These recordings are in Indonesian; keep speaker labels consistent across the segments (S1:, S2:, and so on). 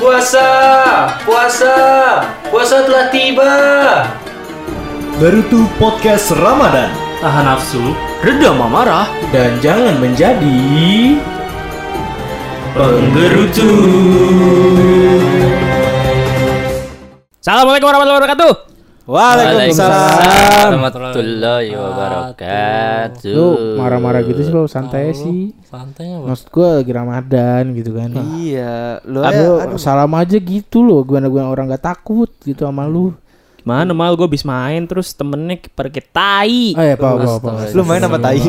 S1: Puasa telah tiba.
S2: Berutu Podcast Ramadan.
S3: Tahan nafsu, redam amarah,
S2: Dan jangan menjadi
S3: penggerutu. Assalamualaikum warahmatullahi wabarakatuh.
S1: Waalaikumsalam warahmatullahi wabarakatuh.
S4: Lu marah-marah gitu sih lo, santai sih.
S3: Santai apa?
S4: Maksud gue lagi Ramadan gitu kan.
S1: Iya, lu
S4: Salam aja gitu loh. Gua orang gak takut gitu sama lu.
S3: Mana mal gue abis main terus temennya pergi tai.
S4: Oh ya, apa.
S1: Lu main sama tai.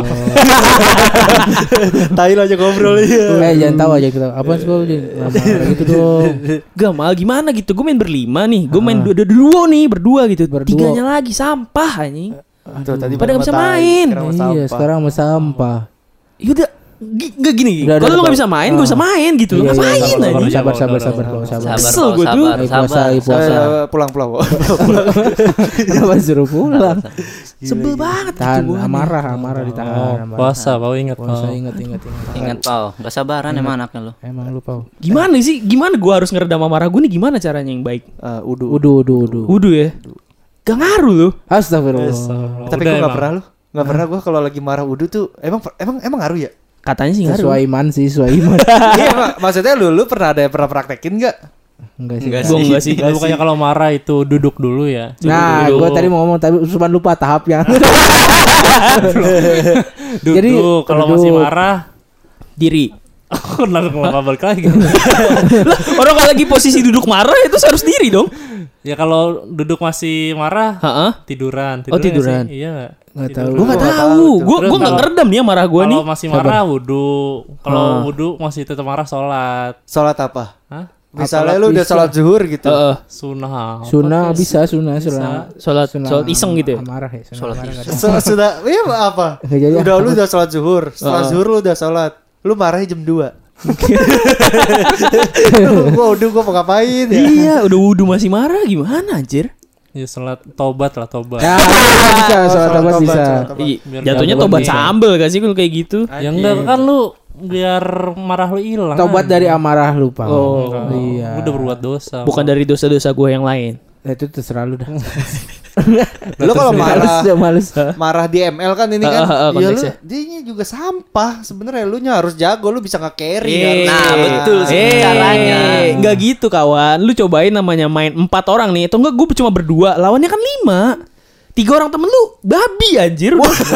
S1: Tai lo aja ngobrol ya.
S4: Jangan tahu aja gitu. Apa sih lo gitu dong.
S3: Gak mal gimana gitu. Gue main berlima nih. Gue main berdua gitu. Tiganya lagi sampah anjing. Pada gak bisa main.
S4: Iya, sekarang sama sampah.
S3: Yaudah gak gini.
S4: Udah,
S3: Kalau lu gak bisa main, gue bisa main gitu.
S4: Iya,
S3: Ngapain anjing?
S4: Sabar.
S3: Kesel gue tuh.
S4: Puasa.
S1: Pulang.
S4: Kenapa suruh pulang?
S3: Sebel banget
S4: Tahan,
S3: gitu.
S4: amarah ditahan.
S5: Puasa, Pau ingat
S4: Puasa,
S5: Pau.
S4: ingat.
S6: Pau, gak sabaran emang anaknya lu.
S4: Emang lu, Pau.
S3: Gimana sih? Gimana gue harus ngeredam amarah gue nih? Gimana caranya yang baik?
S4: Udu.
S3: Wudu ya? Gak ngaruh loh.
S4: Astagfirullah.
S1: Tapi gue gak pernah lu. Gak pernah gue kalau lagi marah wudu tuh emang ngaruh ya?
S3: Katanya sih ngaruh.
S4: Sesuai iman.
S1: Iya, maksudnya lu pernah praktekin gak?
S4: Enggak sih.
S3: Gue enggak sih.
S5: Bukannya kalau marah itu duduk dulu ya.
S4: Nah, gue tadi mau ngomong tapi cuma lupa tahapnya.
S5: Duduk.
S4: Jadi,
S5: Kalau
S4: duduk.
S5: masih marah,
S3: Diri.
S5: lalu kenapa balik lagi?
S3: Orang kalau lagi posisi duduk marah itu harus diri dong.
S5: Ya kalau duduk masih marah,
S3: Heeh.
S5: tiduran.
S3: Oh, tiduran.
S5: Sih? Iya nggak?
S4: Nggak tahu.
S3: Gue nggak tahu. Gue nggak
S5: Kalau-
S3: ngeredam nih ya marah gue nih.
S5: Kalau masih marah wudu. Kalau wudu masih tetap marah sholat.
S1: Sholat apa?
S5: Hah?
S1: Misalnya lu udah sholat zuhur gitu.
S5: Sunnah.
S4: Sunnah bisa.
S3: Sholat iseng gitu ya.
S4: Marah ya.
S6: Sholat
S4: marah
S6: iseng.
S4: nggak ada.
S1: Sudah, iya apa?
S4: Nggak jadi.
S1: Lu udah sholat zuhur. Setelah zuhur lu udah sholat. Lu marahnya jam 2. Gua mau ngapain ya?
S3: Iya, udah wudu masih marah gimana anjir?
S5: Ya sholat tobat lah tobat.
S4: Ya, bisa. Sholat tobat bisa.
S5: Biar
S3: Jatuhnya
S5: nggak
S3: tobat
S5: beban.
S3: sambel gak sih kalau kayak gitu?
S5: Ya enggak kan lu biar marah lu hilang.
S4: Tobat
S5: kan?
S4: dari amarah lu, Pak.
S5: Enggak.
S4: Iya.
S5: Lu udah berbuat dosa.
S3: Bukan dari dosa-dosa gue yang lain.
S4: Itu terserah lu dah.
S1: Lu kalau
S4: Males.
S1: marah di ML kan ini kan.
S3: Iya,
S1: Iya lu
S3: konteksnya.
S1: dia juga sampah. Sebenarnya lu harus jago, lu bisa nge-carry kan.
S6: Nah, betul sih caranya.
S3: Enggak gitu kawan. Lu cobain namanya main 4 orang nih. Atau enggak gue cuma berdua. Lawannya kan 5. 3 orang temen lu babi anjir.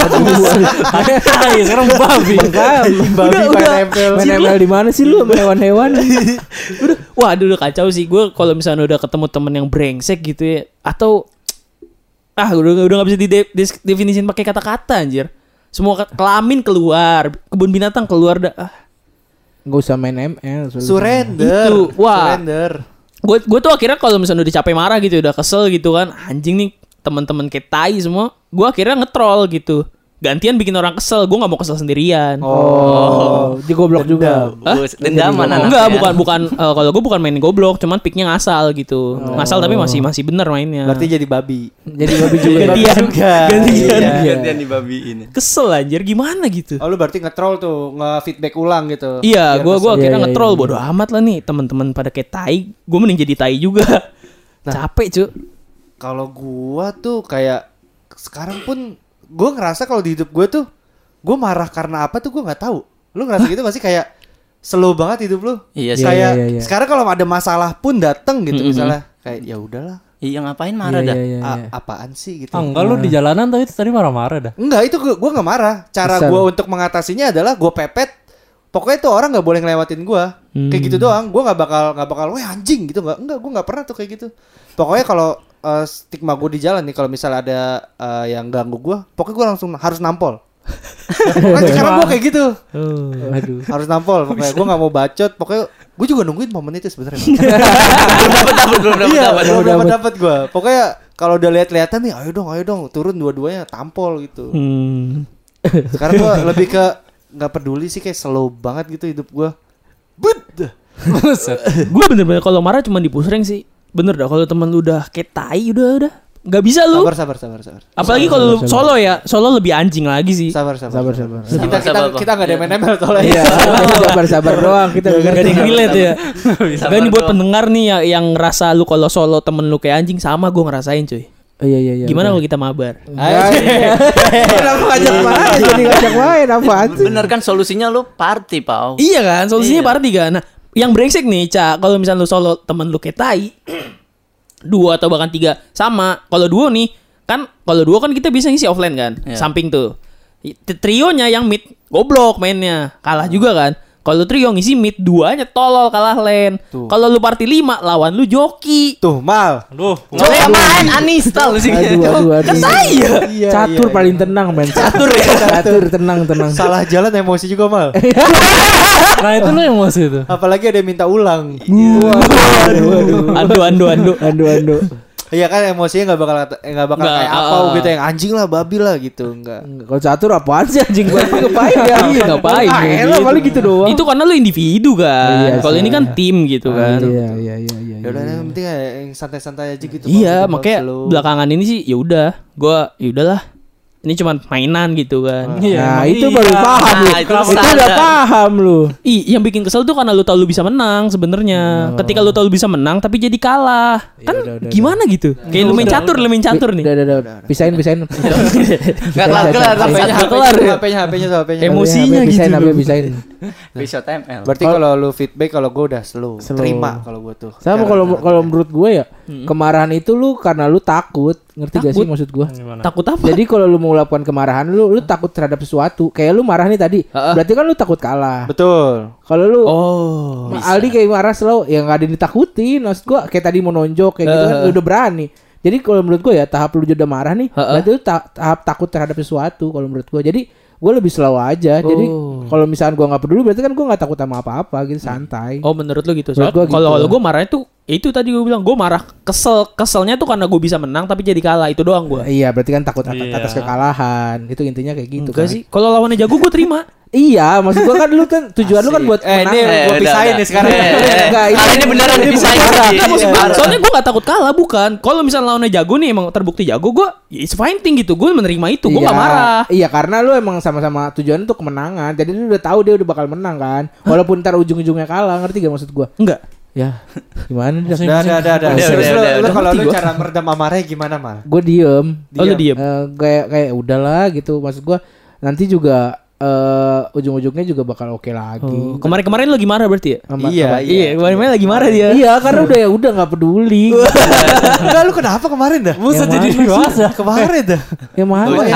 S5: Iya, sekarang babi.
S1: Babi
S3: Udah,
S1: main ML.
S4: Main ML di mana sih lu sama hewan-hewan?
S3: Udah kacau sih. Gue kalau misalnya udah ketemu temen yang brengsek gitu ya. Atau udah gak bisa didefinisiin pakai kata-kata anjir. Semua kelamin keluar, kebun binatang keluar dah.
S4: Enggak usah main ML.
S1: Surrender.
S3: Itu, wah.
S1: Surrender.
S3: Gue tuh akhirnya kalau misalnya udah capek marah gitu, udah kesel gitu kan, anjing nih teman-teman kayak tai semua, gue akhirnya nge-troll gitu. Gantian bikin orang kesel, gue nggak mau kesel sendirian.
S4: Di goblok juga.
S6: Dendaman
S3: Enggak,
S6: anaknya.
S3: bukan kalau gue bukan main goblok, cuman picknya ngasal gitu. Ngasal tapi masih bener mainnya.
S1: Berarti jadi babi.
S4: Jadi babi juga.
S3: gantian. Gantian.
S6: Gantian di babi ini.
S3: Kesel anjir gimana gitu.
S1: Oh lu berarti nge-troll tuh, nge-feedback ulang gitu.
S3: Iya, gue akhirnya
S4: Iya,
S3: nge-troll
S4: iya.
S3: bodo amat lah nih teman-teman pada kayak tai. Gue mending jadi tai juga. Capek cu.
S1: Kalau gua tuh kayak sekarang pun gua ngerasa kalau di hidup gua tuh gua marah karena apa tuh gua nggak tahu. Lu ngerasa gitu gak sih kayak slow banget hidup lu?
S6: Iya sih.
S1: Kayak
S4: Iya.
S1: sekarang kalau ada masalah pun dateng gitu misalnya kayak ya udahlah.
S6: Iya ngapain marah dah?
S1: Apaan sih gitu.
S5: Enggak lu di jalanan tuh itu tadi marah-marah dah.
S1: Enggak, itu gua nggak marah. Cara
S4: Kesel.
S1: gua untuk mengatasinya adalah gua pepet. Pokoknya tuh orang nggak boleh ngelewatin gua. Kayak gitu doang. Gua nggak bakal, weh anjing gitu enggak. Gua nggak pernah tuh kayak gitu. Pokoknya kalau stigma gue di jalan nih kalau misalnya ada yang ganggu gue, pokoknya gue langsung harus nampol. Pokoknya sekarang gue kayak gitu,
S4: Aduh.
S1: harus nampol. Pokoknya gue nggak mau bacot. Pokoknya gue juga nungguin momen itu sebenarnya. Belum dapat gue. Pokoknya kalau udah lihat-lihatan nih, ayo dong, turun dua-duanya tampol gitu. Sekarang gue lebih ke nggak peduli sih, kayak slow banget gitu hidup gue.
S3: Gue bener-bener kalau marah cuma di pusreng sih. Bener dah kalau temen lu udah kayak tai udah Nggak bisa lu.
S1: Sabar.
S3: Apalagi kalau lu solo ya. Solo lebih anjing lagi sih.
S1: Sabar.
S4: Sabar.
S1: Kita enggak ada MNML soalnya.
S4: Iya, sabar doang kita.
S3: Gak ada yang relate ya. Gak nih buat pendengar nih yang ngerasa lu kalau solo temen lu kayak anjing, sama gue ngerasain cuy.
S4: Iya.
S3: Gimana kalau kita mabar?
S4: Kenapa ngajak main? Jadi ngajak main apaan sih?
S6: Bener kan solusinya lu party, Pau.
S3: Iya kan, solusinya party kan. Nah, yang brengsek nih, Ca, kalau misalnya lu solo temen lu kayak tai, 2 atau bahkan 3 sama. Kalau duo nih, kan kalau duo kan kita bisa ngisi offline kan, samping tuh. Trionya yang mid goblok mainnya, kalah juga kan. Kalau trio ngisi mid 2-nya tolol, kalah lane. Kalau lu party 5 lawan lu joki.
S1: Tuh, Mal.
S5: Aduh.
S6: Joki main uninstall sih.
S4: Aduh.
S3: Kan saya.
S4: Catur paling tenang men. Catur tenang.
S1: Salah jalan emosi juga, Mal.
S5: Nah itu lu emosi itu.
S1: Apalagi ada yang minta ulang.
S3: Ando.
S1: Iya kan emosinya nggak bakal kayak apa gitu yang anjing lah, babi lah gitu, enggak.
S4: Kalau catur apaan sih anjing gua ngapain ya?
S3: Iya, ngapain?
S4: Elah paling gitu doang.
S3: Itu karena lu individu kan.
S4: Iya,
S3: Kalau ini kan tim gitu kan.
S4: Iya.
S1: Ya udah yang penting yang santai-santai aja gitu.
S3: Iya,
S1: Bang,
S3: makanya
S1: slow.
S3: belakangan ini sih ya udah, gua ya udahlah. Ini cuma mainan gitu kan.
S4: Nah, itu baru paham lu.
S6: itu
S4: Itu udah
S6: standar.
S4: paham lu.
S3: Yang bikin kesel tuh karena lu tahu lu bisa menang sebenarnya. Ketika lu tahu lu bisa menang tapi jadi kalah. Kan gimana gitu? Kayak lu main catur nih.
S4: Udah. Pisahin.
S6: Enggak kelar
S1: HP-nya.
S3: Emosinya gitu.
S4: Pisahin.
S6: Bisa TML.
S1: Berarti kalau lu feedback, kalau gue udah slow. Terima kalau gue tuh.
S4: Sama kalau menurut gue ya, kemarahan itu lu karena lu takut. Ngerti gak sih maksud gue?
S3: Takut apa?
S4: Jadi kalau lu mau melakukan kemarahan lu takut terhadap sesuatu. Kayak lu marah nih tadi. Berarti kan lu takut kalah.
S1: Betul.
S4: Kalau lu
S3: bisa.
S4: Aldi kayak marah selalu ya nggak ada yang ditakutin. Maksud gua kayak tadi mau nonjok kayak gitu kan lu udah berani. Jadi kalau menurut gua ya tahap lu udah marah nih, berarti lu tahap takut terhadap sesuatu kalau menurut gua. Jadi gua lebih slow aja. Jadi kalau misalkan gua nggak peduli berarti kan gua nggak takut sama apa-apa gitu, santai.
S3: Oh, menurut lu gitu.
S4: Menurut gua gitu.
S3: Kalau gue marahnya tuh itu tadi gue bilang, gue marah keselnya tuh karena gue bisa menang tapi jadi kalah, itu doang gue.
S4: Iya, berarti kan takut atas kekalahan. Itu intinya kayak gitu.
S3: Enggak sih. Kalau lawannya jago gue terima.
S4: Iya, maksud gua kan lu kan tujuan lu kan buat menang.
S1: Ini gue pisahin nih sekarang.
S4: Enggak,
S6: Ini beneran dipisahin sih.
S3: Soalnya gue gak takut kalah, bukan. Kalau misalnya lawannya jago nih, emang terbukti jago, gue it's fighting gitu. Gue menerima itu, gue gak marah.
S4: Iya, karena lu emang sama-sama tujuan untuk kemenangan. Jadi lu udah tahu dia udah bakal menang kan. Walaupun ntar ujung-ujungnya kalah, ngerti gak maksud gua?
S3: Enggak.
S4: Ya, gimana dah?
S1: Udah. Terus lu kalau lu
S3: gua.
S1: cara meredam amarahnya gimana, Mal?
S4: Gue diem.
S3: Oh, lu diem.
S4: Kayak udahlah gitu. Maksud gue nanti juga ujung-ujungnya juga bakal oke lagi.
S3: Kemarin lagi marah berarti ya?
S1: Iya.
S3: Kemarin lagi marah dia.
S4: Iya, karena udah nggak peduli.
S1: Enggak, lu kenapa kemarin dah?
S4: Buset, jadi dewasa.
S1: Kemarin dah.
S4: Yang mana ya?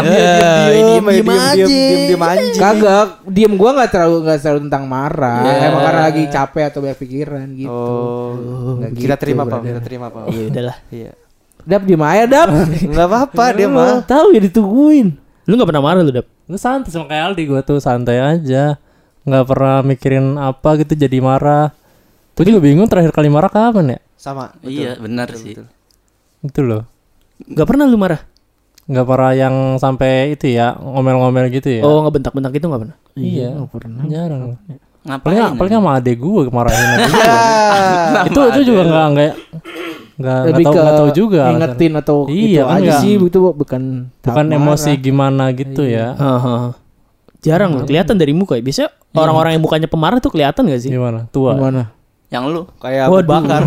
S1: Diem anjing.
S4: Kagak, diem gua nggak terlalu tentang marah. Emang karena lagi capek atau banyak pikiran gitu. Nggak
S1: Kita
S4: gitu,
S1: terima,
S4: brother.
S1: Pak. Kita terima, Pak.
S3: Ya udahlah.
S1: Iya.
S4: Dap diem aja, Dap.
S1: Enggak apa-apa dia mah.
S4: Tahu ya ditungguin.
S3: Lu gak pernah marah lu, Dap?
S5: Gue santai sama kayak Aldi, gue tuh santai aja. Nggak pernah mikirin apa gitu jadi marah. Gue juga bingung terakhir kali marah kapan ya?
S1: Sama.
S6: Iya, benar sih.
S5: Itu loh.
S3: Gak pernah lu marah?
S5: Nggak pernah yang sampai itu ya, ngomel-ngomel gitu ya.
S3: Oh, ngebentak-bentak gitu gak pernah?
S5: Iya,
S4: nggak pernah.
S5: jarang.
S6: Ngapain?
S5: Paling sama adek gue kemarahin adek gue. itu juga nggak tahu juga.
S4: Ngingetin atau
S5: Iya,
S4: itu aja
S5: enggak.
S4: sih, itu bukan
S5: emosi gimana gitu ya.
S3: Jarang loh, kelihatan dari muka ya. Biasanya orang-orang yang mukanya pemarah tuh kelihatan gak sih?
S5: Gimana? Tua.
S4: Gimana?
S6: Yang lu.
S1: Kayak Abu Bakar.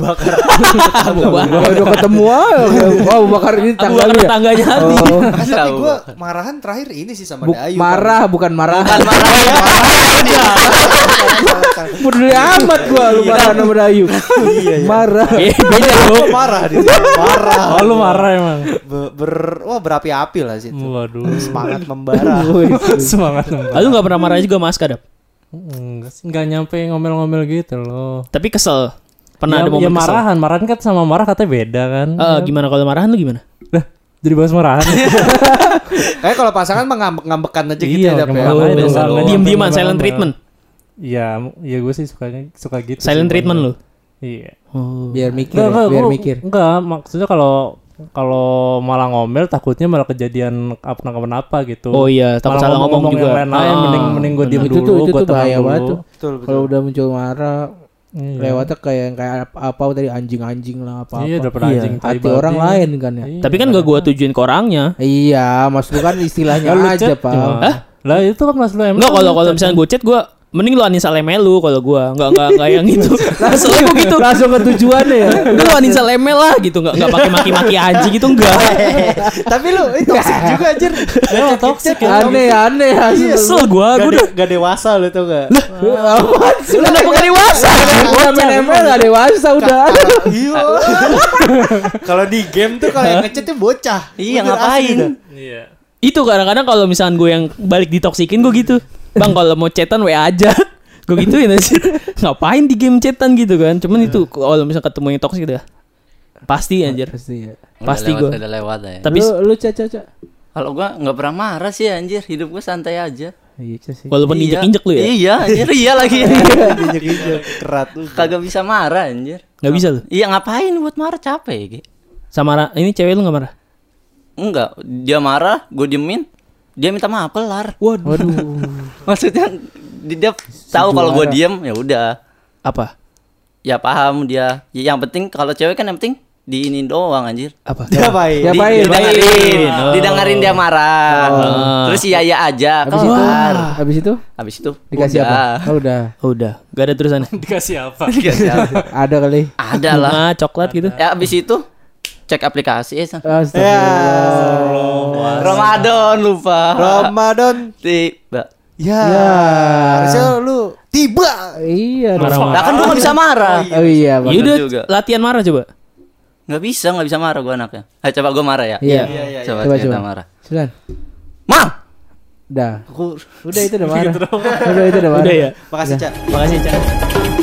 S4: Udah ketemu aja. Abu Bakar ini
S3: Aku
S4: tanggal
S3: bakal
S4: ya.
S3: tetangganya Ardi.
S1: Tapi gue marahan terakhir ini sih sama Dayu.
S4: Marah bukan marah. Peduli amat gua lu marah sama Dayu. Marah.
S3: Beda loh.
S1: Marah di sini. Marah.
S5: Oh lu marah emang.
S1: Berapi-api lah situ.
S5: Waduh.
S1: Semangat membara.
S5: Semangat.
S3: Lalu gak pernah marah juga Mas Kadap?
S5: Enggak sih, nggak nyampe ngomel-ngomel gitu loh.
S3: Tapi kesel. Pernah ada
S5: Ya
S3: momen kesel?
S5: marahan kan sama marah katanya beda kan.
S3: Gimana kalau marahan lu gimana?
S5: Lah, jadi bahas marahan.
S1: Kayak kalau pasangan mah ngambek-ngambekan aja gitu
S5: Iya,
S1: ya, Dap, ya.
S5: ngambek-ngambekan aja.
S3: Biasa.
S5: Nggak
S3: Diem-dieman,
S5: ngomel-ngomel.
S3: silent treatment.
S5: Iya, gue sih suka gitu.
S3: Silent
S5: sih,
S3: treatment lu?
S5: Iya.
S4: Biar mikir, biar mikir.
S5: Enggak, maksudnya kalau malah ngomel takutnya malah kejadian apa gitu.
S3: Oh iya, takut
S5: Malah
S3: salah ngomong juga.
S5: Yang lain, mending gue diem
S4: Itu
S5: dulu,
S4: tuh
S5: gue tenang
S4: bahaya
S5: dulu.
S4: banget tuh.
S1: Betul.
S4: Kalau udah muncul marah, Lewatnya kayak apa tadi anjing-anjing lah apa-apa.
S5: Iya, daripada
S3: Iya.
S5: anjing tai
S4: Hati orang
S5: babi.
S4: lain kan ya.
S5: Iya.
S3: Tapi kan gak gua tujuin ke orangnya.
S4: Iya, maksud lu kan istilahnya
S5: Lu
S4: aja,
S5: chat
S4: Pak.
S5: gimana?
S3: Hah?
S5: Lah itu kan mas lu emang.
S3: Enggak, kalau misalnya gue chat gue mending lu uninstall email lu kalau gue enggak yang itu. Soalnya gue gitu.
S4: Langsung ke tujuannya ya.
S3: Lu uninstall email lah gitu, enggak pakai maki-maki anjing gitu enggak.
S1: Tapi lu itu toxic juga anjir.
S5: Emang toxic ya.
S4: Aneh
S3: Kesel gue udah
S1: Gak dewasa lu tau gak?
S4: Apaan sih?
S3: udah gak dewasa.
S4: Udah main ML gak dewasa udah.
S1: Iya. Kalau di game tuh kalau yang ngechat tuh bocah.
S6: Iya,
S1: Bener, asli
S6: ngapain?
S1: dah.
S5: Iya.
S3: Itu kadang-kadang kalau misalkan gue yang balik ditoksikin gue gitu. Bang kalau mau chatan WA aja. Gue gituin aja. Ngapain di game chatan gitu kan. Cuman itu kalau misalnya ketemu yang toksik udah pasti anjir.
S4: Pasti ya.
S3: Pasti
S6: Udah
S3: gua.
S6: Udah lewat ya.
S3: Tapi
S4: Lu Caca.
S6: Kalau gua nggak pernah marah sih anjir, hidup gua santai aja.
S4: Iya sih.
S3: walaupun
S6: Iya.
S3: injek-injek lu ya.
S6: Iya anjir, iya lagi.
S1: Injek-injek kerat lu.
S6: Kagak bisa marah anjir.
S3: Enggak bisa lu.
S6: Iya ngapain buat marah, capek Ge.
S3: Sama ini cewek lu enggak marah?
S6: Enggak, dia marah, gua diemin. Dia minta maaf kelar.
S4: Waduh.
S6: Maksudnya dia tahu kalau gua diem ya udah.
S3: Apa?
S6: Ya paham dia. Ya, yang penting kalau cewek kan yang penting diinin doang anjir.
S3: Apa?
S1: Diapain?
S4: Diapain?
S6: Didengerin,
S3: Oh.
S6: didengerin dia marah. Terus iya aja kelar.
S4: Habis itu
S6: Habis itu
S4: dikasih
S6: udah.
S4: apa? Oh, udah.
S3: Oh, udah, gak ada terusannya.
S5: Dikasih apa?
S6: Dikasih apa?
S4: Ada kali.
S6: Ada lah.
S3: Bunga, coklat gitu.
S6: Ya abis itu cek aplikasi
S1: Ya.
S4: Astagfirullah.
S6: Ramadan lupa.
S1: Ramadan.
S6: Tiba.
S1: Ya.
S4: Ya.
S1: Harusnya lu tiba.
S4: Iya.
S3: Marah-marah.
S6: Lah kan gua gak bisa marah.
S4: Oh iya, Bang.
S3: Ya udah,
S6: juga.
S3: latihan marah coba.
S6: Gak bisa marah gua anaknya. Ayo coba gua marah ya.
S4: Iya.
S6: Coba
S4: Coba,
S6: kita
S4: coba.
S6: marah.
S4: Silakan.
S6: Mang.
S4: Udah. Udah itu udah marah. Udah itu udah marah.
S3: Udah ya.
S1: Makasih, Cak.
S3: Makasih, Cak.